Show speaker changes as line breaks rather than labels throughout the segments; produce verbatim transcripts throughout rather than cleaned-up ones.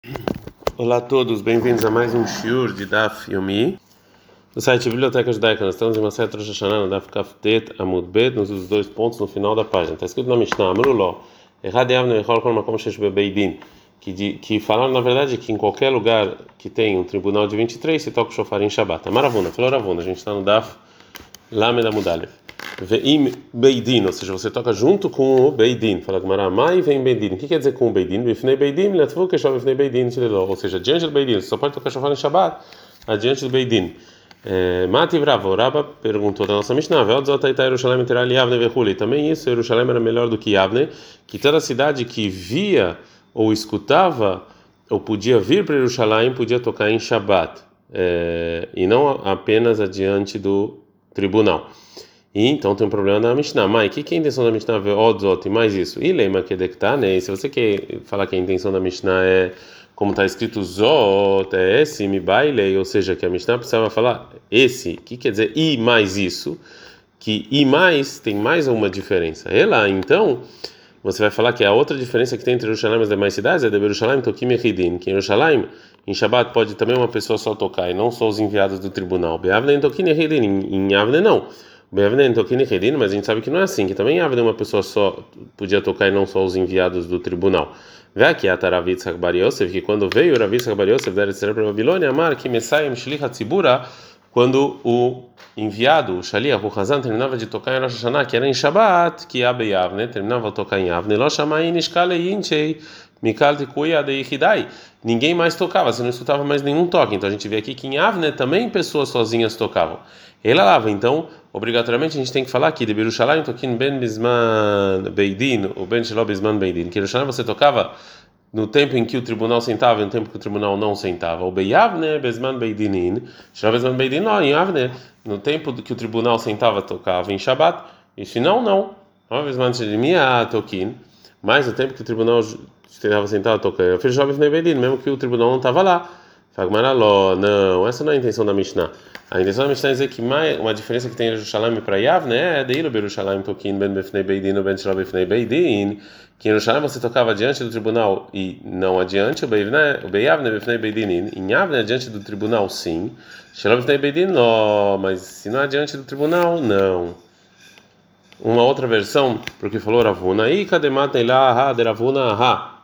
Olá a todos, bem-vindos a mais um shiur de Daf Yomi no site Biblioteca Judaica. Nós estamos em uma série Rosh Hashanah, no Daf Kaftet Amud Bet, nos dois pontos no final da página. Está escrito na Mishnah, Amruló, Errad Yavne Echol Kol Makom Shesh Bebeidin, que de, que falaram na verdade que em qualquer lugar que tem um tribunal de vinte e três se toca o shofar em Shabbat. Amaravuna, falou Ravuna, a gente está no Daf Lamed Amud Aleph. Veim Beidin, ou seja, você toca junto com o Beidin. Fala Gemara, Mai vem Beidin. O que quer dizer com o Beidin? Bifnei Beidin, Latvu Keshov Bifnei Beidin, ou seja, diante do Beidin. Você só pode tocar shofar em Shabbat, adiante do Beidin. Mati Bravo, Raba perguntou da nossa Mishnah, Yerushalayim terá Yavne vechuli. Também isso, Yerushalayim era melhor do que Yavne, que toda cidade que via ou escutava ou podia vir para Yerushalayim podia tocar em Shabbat, é, e não apenas adiante do tribunal. E então tem um problema da Mishnah. Mas o que, que é a intenção da Mishnah? Odzot e mais isso. E lema que né? Se você quer falar que a intenção da Mishnah é como está escrito Zot, é esse, mi baile, ou seja, que a Mishnah precisava falar esse. O que quer dizer e mais isso? Que e mais tem mais uma diferença. Ela, então, você vai falar que a outra diferença que tem entre Yerushalayim e as demais cidades é de Yerushalayim Tokim Echidin, que em Yerushalayim, em Shabbat, pode também uma pessoa só tocar e não só os enviados do tribunal. Be'avne Tokim Echidin, em Yavne não. Mas a gente sabe que não é assim, que também Avne uma pessoa só podia tocar e não só os enviados do tribunal. Vê aqui a Taravit Bar Yosef, que quando veio o Ravi Bar Yosef da Eretz para a Babilônia, Amar que Messiah Mishlich Hatzibura, quando o enviado, o Shaliach, o Hazan, terminava de tocar em Rosh Hashanah, que era em Shabbat, que Abe Yavne, terminava de tocar em Avne, Lo Shamai Nishkale Yinchei, Mikal Tikuya de Ichidai. Ninguém mais tocava, você não escutava mais nenhum toque. Então a gente vê aqui que em Avne também pessoas sozinhas tocavam. Ela lava, então, obrigatoriamente a gente tem que falar aqui de Yerushalayim toquin ben bisman beidin, ou ben shelo bisman beidin, que Yerushalayim você tocava no tempo em que o tribunal sentava e no tempo que o tribunal não sentava. O beyavne bisman beidinin, shelo bisman beidin, não, em Avne, no tempo que o tribunal sentava tocava em Shabbat, e se não, não. Bisman shelimia toquin, mas no tempo que o tribunal estava sentado tocando, eu fiz shelo bisman beidin, mesmo que o tribunal não estava lá. Fagmaraló, não, essa não é a intenção da Mishnah. A intenção da Mishnah é dizer que mais, uma diferença que tem em Yerushalayim para Yavne é de Ilo Yerushalayim toquin ben befnei beidin ou ben shelo befnei beidin, que em Yerushalayim você tocava diante do tribunal e não adiante, o Beyavne befnei beidin, em Yavne adiante do tribunal sim, shelo befnei beidin não, mas se não adiante do tribunal, não. Uma outra versão, porque falou Ravuna, e kademata ilá ha de Ravuna ha.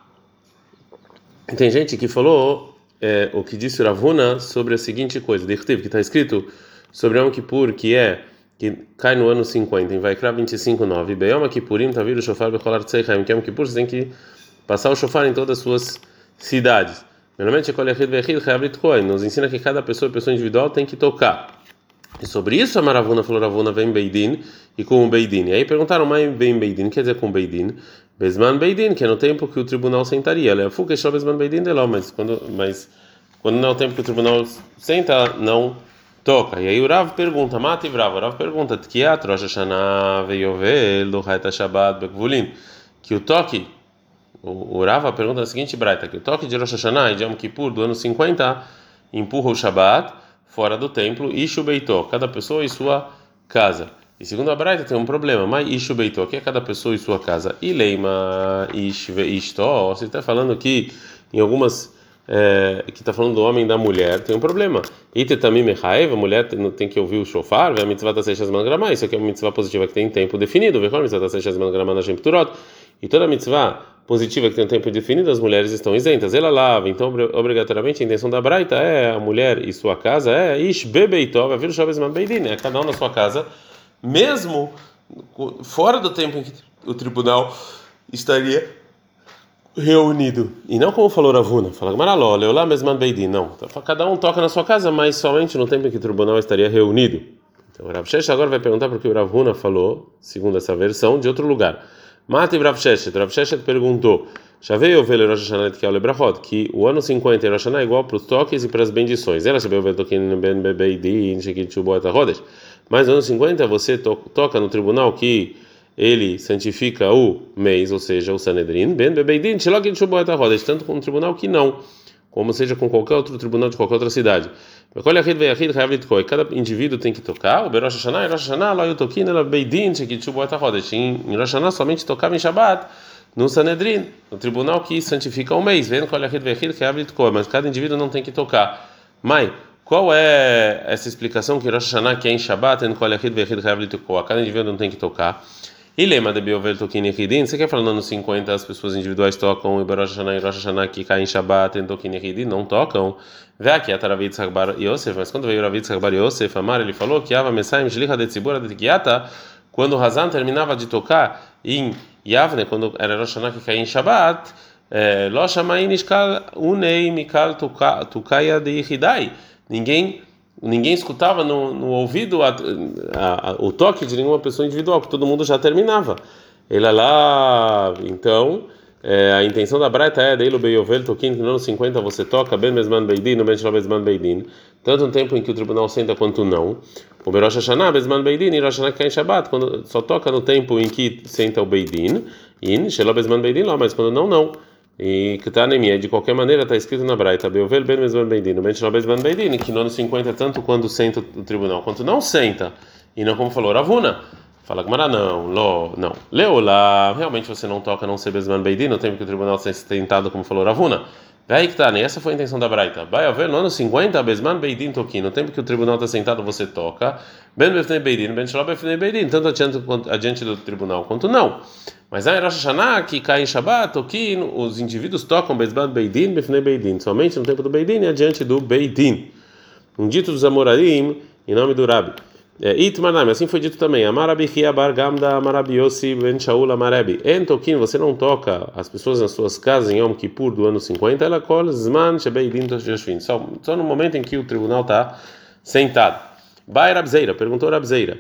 Tem gente que falou É, o que disse Ravuna sobre a seguinte coisa, que está escrito sobre Yom Kippur, que é que cai no ano cinquenta, em Vaikra vinte e cinco, nove, Beyom Kippurim Tavir o Shofar Becholar Tzeichaim, que Yom Kippur você tem que passar o shofar em todas as suas cidades. Normalmente nos ensina que cada pessoa, pessoa individual, tem que tocar. E sobre isso a Maravuna falou Ravuna vem Beidin e com o Beidin. E aí perguntaram, mas vem Beidin, quer dizer com Beidin? Besman Beidin, que é no tempo que o tribunal sentaria. Mas quando, mas quando não é o tempo que o tribunal senta, não toca. E aí o Rav pergunta, Mati Bravo, o Rav pergunta, Tkiat Rosh Hashanah veiovel do Haita Shabbat Bekvulin, que o toque, o, o Rav pergunta a seguinte braita, que o toque de Rosh Hashanah e de Yom Kippur do ano cinquenta empurra o Shabbat fora do templo, Ishu Beitó, cada pessoa em sua casa. E segundo a Braita tem um problema, mas Ishu Beitó, que é cada pessoa em sua casa. E Leima Ish Veistó, você está falando que em algumas, é, que está falando do homem e da mulher, tem um problema. Ite Tamim Mechaev, a mulher tem, tem que ouvir o shofar, a mitzvah da Seixas Mangramá, isso aqui é uma mitzvah positiva que tem tempo definido, a mitzvah da Seixas Mangramá na Shemturot, e toda mitzvah positiva que tem um tempo definido, as mulheres estão isentas. Ela lava, então obrigatoriamente a intenção da Braita é a mulher e sua casa é Ish Bebeitó, vai vir o Shabbat Beidin, é cada um na sua casa, mesmo fora do tempo em que o tribunal estaria reunido. E não como falou Ravuna, fala Maraló, Leolá Mesman Beidin, não. Então, cada um toca na sua casa, mas somente no tempo em que o tribunal estaria reunido. Então o Rav Sheshet agora vai perguntar porque o Ravuna falou, segundo essa versão, de outro lugar. Mati Rav Sheshet, Rav Sheshet perguntou, Shavei Ovel Rosh Hashanah Tkiel Lebrachot, que o ano cinquenta em Rosh Hashanah é igual para os toques e para as bendições. Ela Shavei Ovel Tokin Ben Beidin, Shekit Shuboat HaHodesh. Mas no ano cinquenta você to, toca no tribunal que ele santifica o mês, ou seja, o Sanedrin, Ben Beidin, Shekit Shuboat HaHodesh, tanto com um tribunal que não, como seja com qualquer outro tribunal de qualquer outra cidade. Cada indivíduo tem que tocar. O Rosh Hashanah, Rosh Hashanah, lá eu toquei nela Beidin, Shekit Shuboat HaHodesh. Em Rosh Hashanah somente tocava em Shabbat no Sanedrin, no tribunal que santifica o mês, vendo qual é a mas cada indivíduo não tem que tocar. Mãe, qual é essa explicação que Rosh Hashanah que é em Shabbat, vendo qual é a cada indivíduo não tem que tocar? E lema de Biovel Tokin Echidin, você quer falar no ano cinquenta as pessoas individuais tocam, e Rosh Hashanah e Rosh Hashanah que cai em Shabbat, em Tokin Echidin, não tocam. Vê aqui a Taravit Sagbar Yosef, mas quando veio Ravit Sagbar Yosef, Amar, ele falou que Ava Messaim Shlicha de Tzibura de Tikiata, quando o Hazan terminava de tocar em Yavne, quando era Rosh Hashanah que caía em Shabbat, Lo Shamain Ishkal Unei Mikal Tukaya de Ichidai, ninguém ninguém escutava no, no ouvido a, a, a, o toque de nenhuma pessoa individual, que todo mundo já terminava. Ele lá, então, é, a intenção da Braita é dele o Beiovel Tokin, que no ano cinquenta você toca Ben Mesman Beidin, no Ben Shloh Mesman Beidin, tanto no tempo em que o tribunal senta quanto não. O Berosh Hashanah Mesman Beidin e Rosh Hashanah que cai em Shabbat, quando só toca no tempo em que senta o Beidin, in Shloh Mesman Beidin lá, mas quando não, não. E que está anemia, de qualquer maneira está escrito na Braita, Beuvel ben mesman beidin, no ben shelo mesman beidin, que no ano cinquenta tanto quando senta o tribunal quanto não senta, e não como falou Ravuna, fala Gemara não, lo, não, Leolá, realmente você não toca não ser mesman beidin no tempo que o tribunal está sentado como falou Ravuna. Daí que está, né? Essa foi a intenção da Braita. Vai haver no ano cinquenta, Besman Beidin Tokin, no tempo que o tribunal está sentado você toca, Ben Befnei Beidin, Ben Shelo Befnei Beidin, tanto adiante, adiante do tribunal quanto não. Mas aí Rosh Hashanah, que cai em Shabbat, Tokin, os indivíduos tocam Besman Beidin, Befnei Beidin, somente no tempo do Beidin e adiante do Beidin. Um dito dos Amorarim, em nome do Rabi. Itmanam, assim foi dito também. Amarabi Bar Gamda, Amarabi Yossi Ben Shaul Amarebi. En Tokin, você não toca as pessoas nas suas casas em Yom Kippur do ano cinquenta, ela kol Zman Shebeidin Toshvin. Só só no momento em que o tribunal está sentado. Bai Rabzeira, perguntou Rabzeira.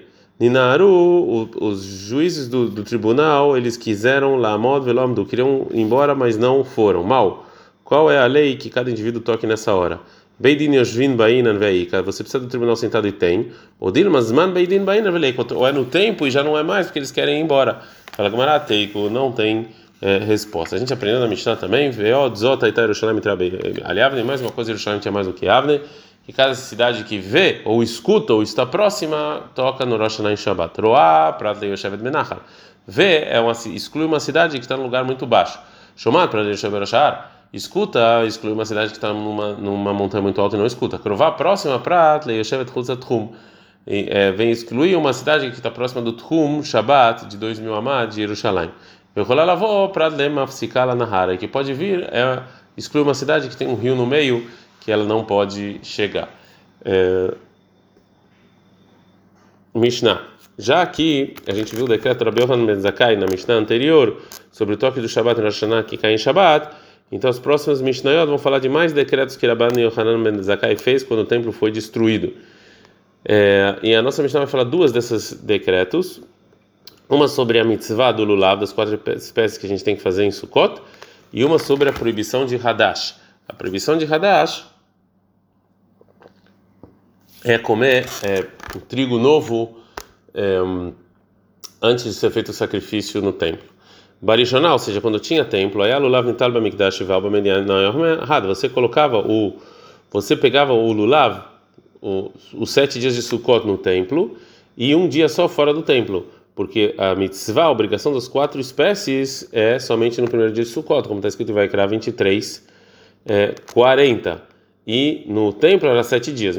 Ninaru, os juízes do, do tribunal, eles quiseram Lamod Velomdu, queriam ir embora, mas não foram. Mal. Qual é a lei que cada indivíduo toque nessa hora? Beidin Yoshvin Bainan Veika, você precisa do tribunal sentado e tem. O Dilmas Man Beidin Bainan Veika, ou é no tempo e já não é mais porque eles querem ir embora. Fala Gemara Teiko, não tem é, resposta. A gente aprendeu na Mishnah também, Veo Dzota Ita Yerushalayim Trabei. Aliavne, mais uma coisa, Yerushalayim tinha mais do que Avne, que cada cidade que vê, ou escuta, ou está próxima, toca no Rosh Hashanah em Shabbat. Roá, Prat Yoshevet Menachal. Vê, é uma, exclui uma cidade que está num lugar muito baixo. Shomat, Prat Yoshevet Rashar. Escuta, exclui uma cidade que está numa, numa montanha muito alta e não escuta. Krová, próxima para Leishevet Chutza Tchum. Vem excluir uma cidade que está próxima do Tchum, Shabbat, de dois mil amad, de Jerusalém. Vecholah lavó para Lemafsikala Nahara, que pode vir, é, exclui uma cidade que tem um rio no meio, que ela não pode chegar. É, Mishnah. Já aqui, a gente viu o decreto Rabi Yochanan ben Zakkai na Mishnah anterior, sobre o toque do Shabbat em Rosh Hashanah que cai em Shabbat. Então, os próximos Mishnayot vão falar de mais decretos que Rabban Yochanan ben Zakkai fez quando o templo foi destruído. É, e a nossa Mishnah vai falar duas desses decretos. Uma sobre a mitzvah do lulav, das quatro espécies que a gente tem que fazer em Sukkot, e uma sobre a proibição de Hadash. A proibição de Hadash é comer é, o trigo novo é, antes de ser feito o sacrifício no templo. Barishonal, ou seja, quando tinha templo, aí lulav nital bamikdash valba median não é errado. Você colocava o, você pegava o lulav, o, os sete dias de Sukkot no templo e um dia só fora do templo, porque a mitzvah, a obrigação das quatro espécies é somente no primeiro dia de Sukkot, como está escrito em Vaikra vinte e três, é, quarenta. E no templo era sete dias. E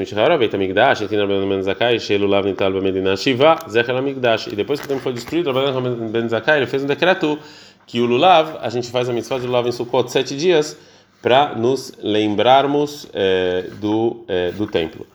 depois que o templo foi destruído, Ben Zakkai ele fez um decreto que o lulav, a gente faz a mitzvah de lulav em Sukkot sete dias para nos lembrarmos é, do, é, do templo.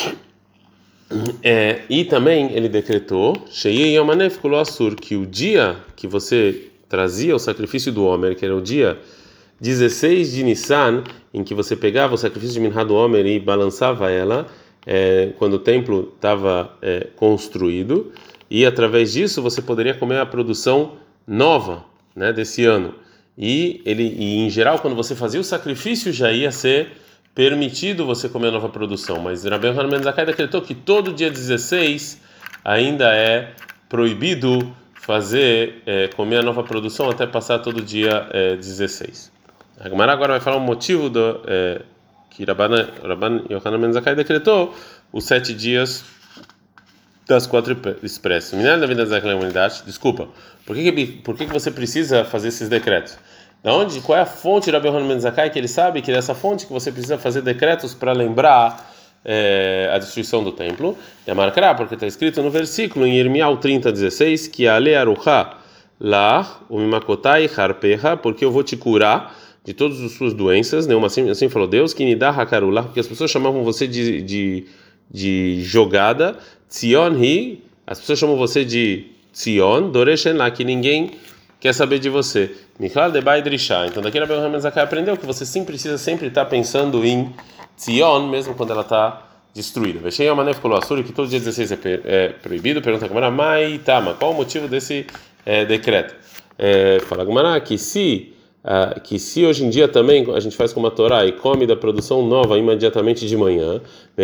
É, e também ele decretou que o dia que você trazia o sacrifício do Homer, que era o dia dezesseis de Nissan, em que você pegava o sacrifício de Minhá do Homer e balançava ela, é, quando o templo estava é, construído, e através disso você poderia comer a produção nova, né, desse ano. E, ele, e em geral, quando você fazia o sacrifício, já ia ser permitido você comer a nova produção. Mas Rabbi Yochanan ben Zakkai decretou que todo dia dezesseis ainda é proibido fazer, é, comer a nova produção até passar todo dia é, dezesseis. A Gemara agora vai falar o motivo do, é, que Rabban Yochanan ben Zakkai decretou os sete dias das quatro expressos. Minério da vida da humanidade, desculpa. Por que que, por que que você precisa fazer esses decretos? Da onde? Qual é a fonte de Rabbi Yohanan ben Zakkai que ele sabe que é dessa fonte que você precisa fazer decretos para lembrar é, a destruição do templo? É marcará, porque está escrito no versículo em Irmial trinta, dezesseis, que ale aruha lá o mimakotai harpeha, porque eu vou te curar de todas as suas doenças, né? Assim, assim falou Deus, que nidá hakarullah, porque as pessoas chamavam você de, de, de jogada, Tzion hi, as pessoas chamam você de Tzion, Doreshen lá, que ninguém quer saber de você. Michal de Baidrisha. Então daqui a Rabbi Yohanan ben Zakkai aprendeu que você sim precisa sempre estar pensando em Tzion, mesmo quando ela está destruída. Vexei a mané ficou assur, que todo dia dezesseis é, é proibido. Pergunta a Gemara, mai tama, qual o motivo desse é, decreto? É, fala a Gemara que se Uh, que se hoje em dia também a gente faz com uma Torá e come da produção nova imediatamente de manhã,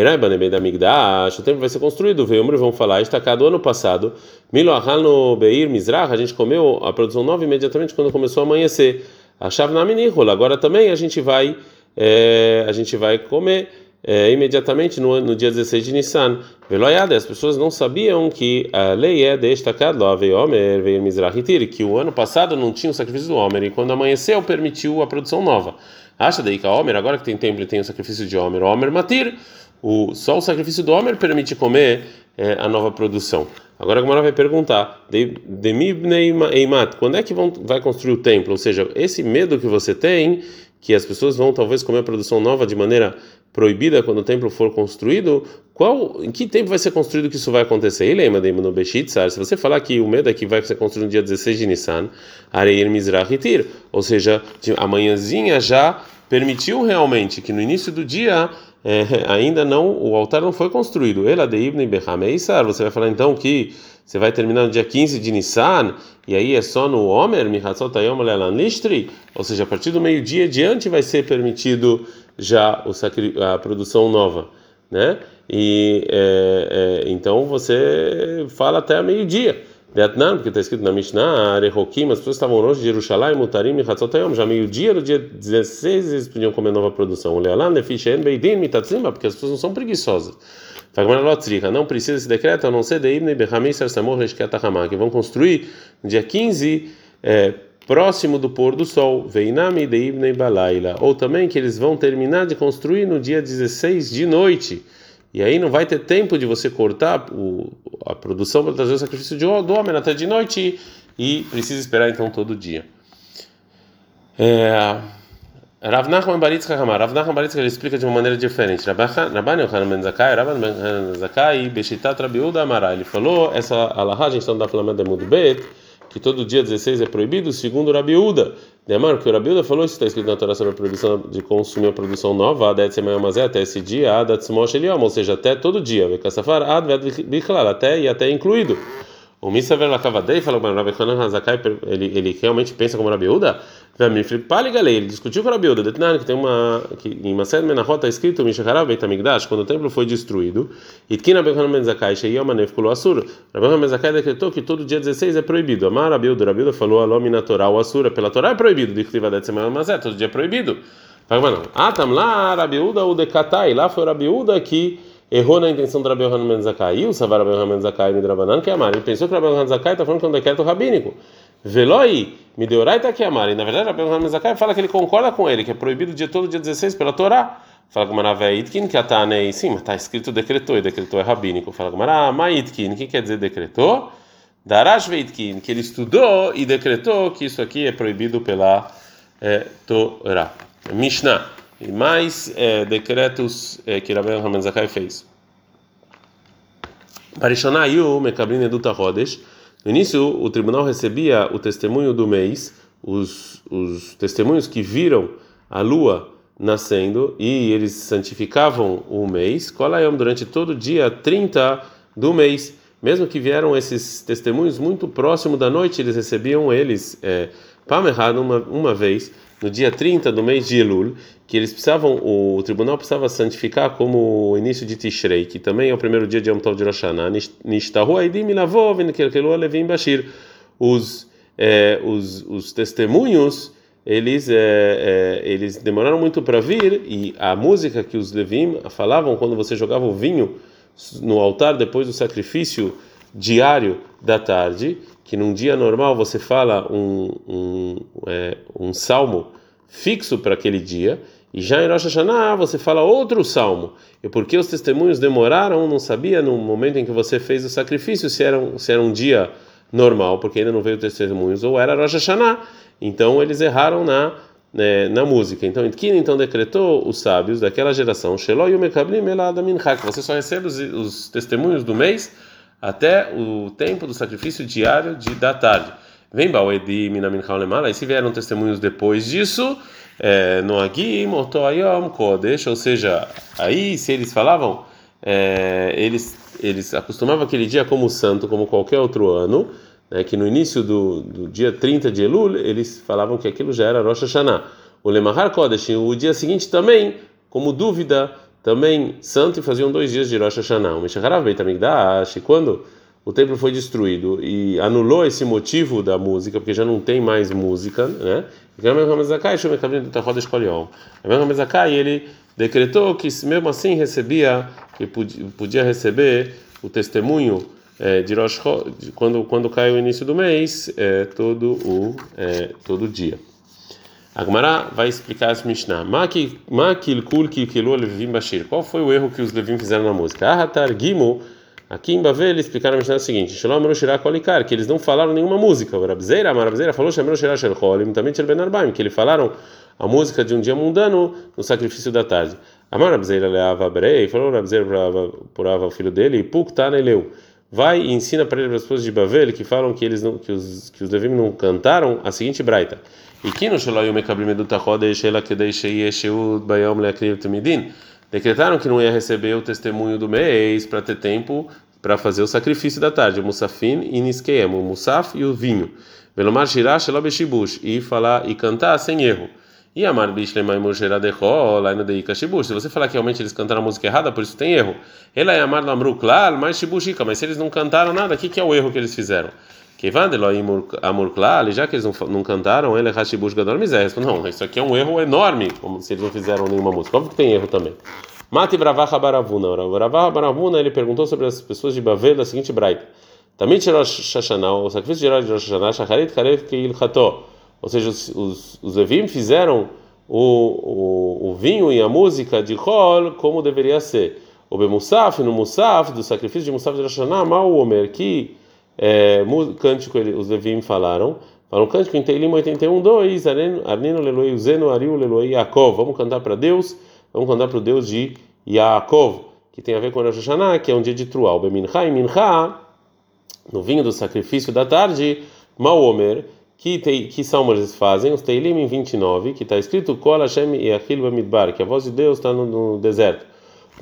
o templo vai ser construído, veio e vão falar, estacado ano passado, Milo no Beir Mizrach, a gente comeu a produção nova imediatamente quando começou a amanhecer. A chave na Minihula, agora também a gente vai é, a gente vai comer é, imediatamente no, no dia dezesseis de Nissan. Veloiada, as pessoas não sabiam que a lei é destacado lá veio Homer, veio Mizrahitir, que o ano passado não tinha o sacrifício do Homer e quando amanheceu permitiu a produção nova. Acha daí que a Homer, agora que tem templo e tem o sacrifício de Homer, Homer Matir, o, só o sacrifício do Homer permite comer é, a nova produção. Agora a Gemara vai perguntar, Demibnei Eimat, quando é que vão, vai construir o templo? Ou seja, esse medo que você tem, que as pessoas vão talvez comer a produção nova de maneira proibida quando o templo for construído, qual, em que tempo vai ser construído que isso vai acontecer? E lembra no Beshitzar, se você falar que o medo é que vai ser construído no dia dezesseis de Nissan, Areir Mizrahitir, ou seja, a manhãzinha já permitiu realmente que no início do dia é, ainda não, o altar não foi construído. Ela de Ibn Behameisar, você vai falar então que você vai terminar no dia quinze de Nissan, e aí é só no Homer, Mihatzot Hayom Le'alan Lishtri, ou seja, a partir do meio-dia adiante vai ser permitido já o sacri, a produção nova, né? E é, é, então você fala até meio-dia. Vietnã, porque está escrito na Mishnah, Arehokim, as pessoas estavam longe de Jerusalém, Mutarim e Hatzotayom, já meio-dia do dia dezesseis eles podiam comer nova produção. O Lealan, Nefishen, Beidin, Mitatzima, porque as pessoas não são preguiçosas. Não precisa esse decreto, a não ser de Ibn Behamei Sarsamor Reshkatahama, que vão construir no dia quinze, é, próximo do pôr do sol, Veinami de Ibn Balaila, ou também que eles vão terminar de construir no dia dezesseis de noite. E aí não vai ter tempo de você cortar o, a produção para trazer o sacrifício de, do homem até de noite e precisa esperar então todo dia. É, Rav Nachman bar Yitzchak Amar, Rav Nachman bar Yitzchak ele explica de uma maneira diferente. Rabban Yochanan ben Zakkai, Rabban ben Zakkai, Beshitat Rabi Yehuda Amara, ele falou essa alahá, a gente está no Daf Lamed Amud Bet, que todo dia dezesseis é proibido, segundo Rabi Yehuda. Demar, porque o Rabi Yehuda falou, isso está escrito na Torá sobre a proibição de consumir a produção nova, até esse dia, ou seja, até todo dia, até e até incluído. O Misaver Lakavadei falou para o Rabi Yochanan Hazakai, ele ele realmente pensa como Rabi Yehuda? Ele discutiu com o Rabi Yehuda, que tem uma que em Mased Menachot está escrito Mishacharav Beit Hamikdash, quando o templo foi destruído, e que Rabi Yochanan ben Zakkai Sheyom Anef Kulo Asur. Rabi Yochanan ben Zakkai decretou que todo dia dezesseis é proibido. Amar Rabi Yehuda, Rabi Yehuda falou Alom na Torá o Asura, pela Torá é proibido, de Ktivadet Semana Mazé, todo dia é proibido. Ah, tam lá Rabi Yehuda o Dekatai, lá foi o Rabi Yehuda que errou na intenção do Rabi Yohanan ben Zakkai, e o Savar Rabi Yohanan ben Zakkai Midrabanan que é amar. Ele pensou que o Rabi Yohanan ben Zakkai está falando que é um decreto rabínico. Veloi, Mideoraita que é amar. E na verdade, o Rabi Yohanan ben Zakkai fala que ele concorda com ele, que é proibido o dia todo, dia dezesseis, pela Torá. Fala com Maravé Itkin, que a né? Sim, mas está escrito decretou, e decretou é rabínico. Fala com Mará, Maitkin, o que quer dizer decretou? Darash Veitkin, que ele estudou e decretou que isso aqui é proibido pela é, Torá. Mishnah. E mais é, decretos é, que Rabbi Yohanan ben Zakkai fez. Parishonayu mekabrin eduta rodesh. No início, o tribunal recebia o testemunho do mês, os, os testemunhos que viram a lua nascendo, e eles santificavam o mês. Kolayom durante todo o dia trinta do mês. Mesmo que vieram esses testemunhos muito próximo da noite, eles recebiam eles é, pamerhad uma, uma vez. No dia trinta do mês de Elul, que eles precisavam, o tribunal precisava santificar como o início de Tishrei, que também é o primeiro dia de Yom Tov de Rosh Hashanah. Nishtahu aidim milavov nekelkelu alevim bashir. Os é, os os testemunhos eles é, é, eles demoraram muito para vir, e a música que os levim falavam quando você jogava o vinho no altar depois do sacrifício diário da tarde, que num dia normal você fala um, um, é, um salmo fixo para aquele dia, e já em Rosh Hashanah você fala outro salmo. E porque os testemunhos demoraram, não sabia no momento em que você fez o sacrifício se era um, se era um dia normal, porque ainda não veio testemunhos, ou era Rosh Hashanah. Então eles erraram na né, na música. Então Itkin então decretou os sábios daquela geração, Shelo yumekablim elad mincha, que você só recebe os, os testemunhos do mês até o tempo do sacrifício diário de, da tarde. Vem Baoedi Minamincha Lemala, e se vieram testemunhos depois disso, é, no Agim, Otoayom, Kodesh, ou seja, aí se eles falavam, é, eles, eles acostumavam aquele dia como santo, como qualquer outro ano, né, que no início do, do dia trinta de Elul, eles falavam que aquilo já era Rosh Hashanah. O Lemahar Kodesh, o dia seguinte também, como dúvida, também santo, e faziam dois dias de Rosh Hashanah. O Meshacharav Beit HaMikdash, quando o templo foi destruído e anulou esse motivo da música, porque já não tem mais música, né? E ele decretou que mesmo assim recebia, que podia receber o testemunho é, de Rosh Hashanah, quando quando cai o início do mês, é, todo o é, todo dia. A Gemara vai explicar esse Mishnah. Qual foi o erro que os Levim fizeram na música? Aqui em Bavel eles explicaram a Mishnah o seguinte: que eles não falaram nenhuma música. O Rabzeira, a Rabzeira falou que eles falaram a música de um dia mundano no sacrifício da tarde. A Rabzeira leava Brei, falou Rabzeira para o filho dele, Puktan eleu. Vai e ensina para ele as pessoas de Bavel que falam que eles não, que os que os Levim não cantaram a seguinte braita. E que no Shelo Yomekablim Edut HaChodesh Ela Kedei Sheyeshut Bayom Leakriv Tamidin, decretaram que não ia receber o testemunho do mês para ter tempo para fazer o sacrifício da tarde, o Musafin e Niskeem, o Musaf e o vinho. Velomar Shirah Shelo Beshibush, e falar e cantar sem erro. E Amar Bishlemai Mosheradechol, lá no Deika Shibush. Se você falar que realmente eles cantaram a música errada, por isso tem erro. Ela é Amar Lamru Klal, mais Shibushika, mas se eles não cantaram nada, o que, que é o erro que eles fizeram? Amur Klal, já que eles não, não cantaram, ele é Hashibush Gadol Mizé. Não, isso aqui é um erro enorme, como se eles não fizeram nenhuma música. Óbvio que tem erro também. Mati Bravaha Baravuna. Bravaha Baravuna, ele perguntou sobre as pessoas de Bavel da seguinte braita. Também tirou Shashanah, o sacrifício geral de Rosh Hashanah, Shacharit Karev Keil Chato. Ou seja, os, os, os Levim fizeram o, o, o vinho e a música de Chol como deveria ser. O Bemusaf, no Musaf, do sacrifício de Musaf de Rosh Hashanah, Mal Omer, que é, cântico os Levim falaram. Falaram cântico em Teilim oitenta e um, dois, Arnino Leloi Uzeno, Ariu Leloi Yaakov. Vamos cantar para Deus, vamos cantar para o Deus de Yaakov, que tem a ver com Rosh Hashanah, que é um dia de Truá. O Bemincha e Mincha, no vinho do sacrifício da tarde, Mal Omer, que, te, que salmo eles fazem? Os Teilim em vinte e nove, que está escrito Kol Hashem Yachil Bamidbar, que a voz de Deus está no, no deserto. E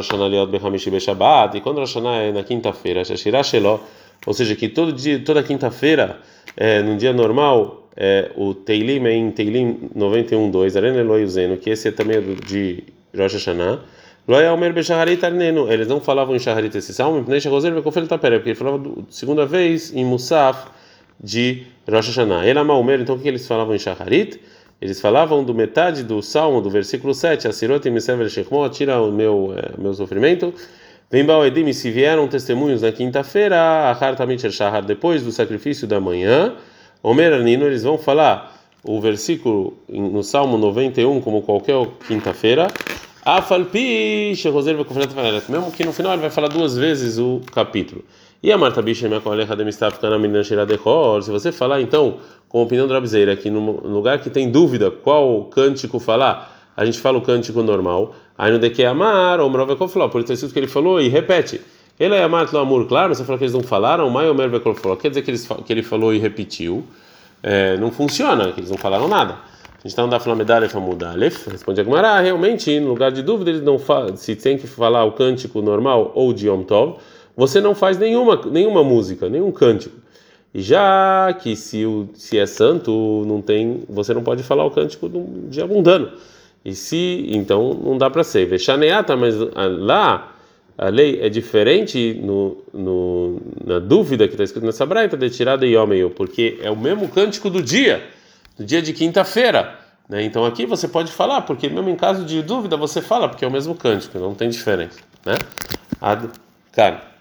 quando Rosh Hashanah é na quinta-feira, Shashirah Shelo, ou seja, que todo dia, toda quinta-feira, é, num dia normal, é, o Teilim é em Teilim noventa e um, dois, Aren Eloi Uzeno, que esse é também do, de Rosh Hashanah. Eles não falavam em Shaharit esse salmo, porque ele falava do, segunda vez em Musaf de Rosh Hashanah. Ela Maomer, então o que eles falavam em Shaharit? Eles falavam do metade do salmo, do versículo sete, Asirot Misever Shechmot, tira o meu, é, meu sofrimento. Vem Baoedim, se vieram testemunhos na quinta-feira, Achar Tamit Shahar, depois do sacrifício da manhã, Omer Arnino, eles vão falar o versículo no salmo noventa e um, como qualquer quinta-feira, Afalpi Shechoser Vekufret Vaeret, mesmo que no final ele vai falar duas vezes o capítulo. E a Marta Bishem Akolecha Demistaf Kana Minan Shiradechor, se você falar então, com a opinião do Rabzeira, que no lugar que tem dúvida qual cântico falar, a gente fala o cântico normal. Aí no de que amar, o Mrov Vekolfló, por isso que ele falou e repete. Ele é amar lo amor, claro, mas você falou que eles não falaram, Mai Omer Vekolfló, quer dizer que, eles, que ele falou e repetiu. É, não funciona, que eles não falaram nada. A gente está no Daf Lamed Aleph Amud Aleph, responde a Gemara, realmente, no lugar de dúvida, eles não falam, se tem que falar o cântico normal ou de Yom Tov, você não faz nenhuma, nenhuma música, nenhum cântico. E já que se, o, se é santo, não tem, você não pode falar o cântico de dia mundano. E se, então, não dá para ser. Vechaneata, mas lá a lei é diferente no, no, na dúvida que está escrito nessa braita de tirada e homem, porque é o mesmo cântico do dia, do dia de quinta-feira. Né? Então aqui você pode falar, porque mesmo em caso de dúvida você fala, porque é o mesmo cântico, não tem diferença. Né? Ad kan.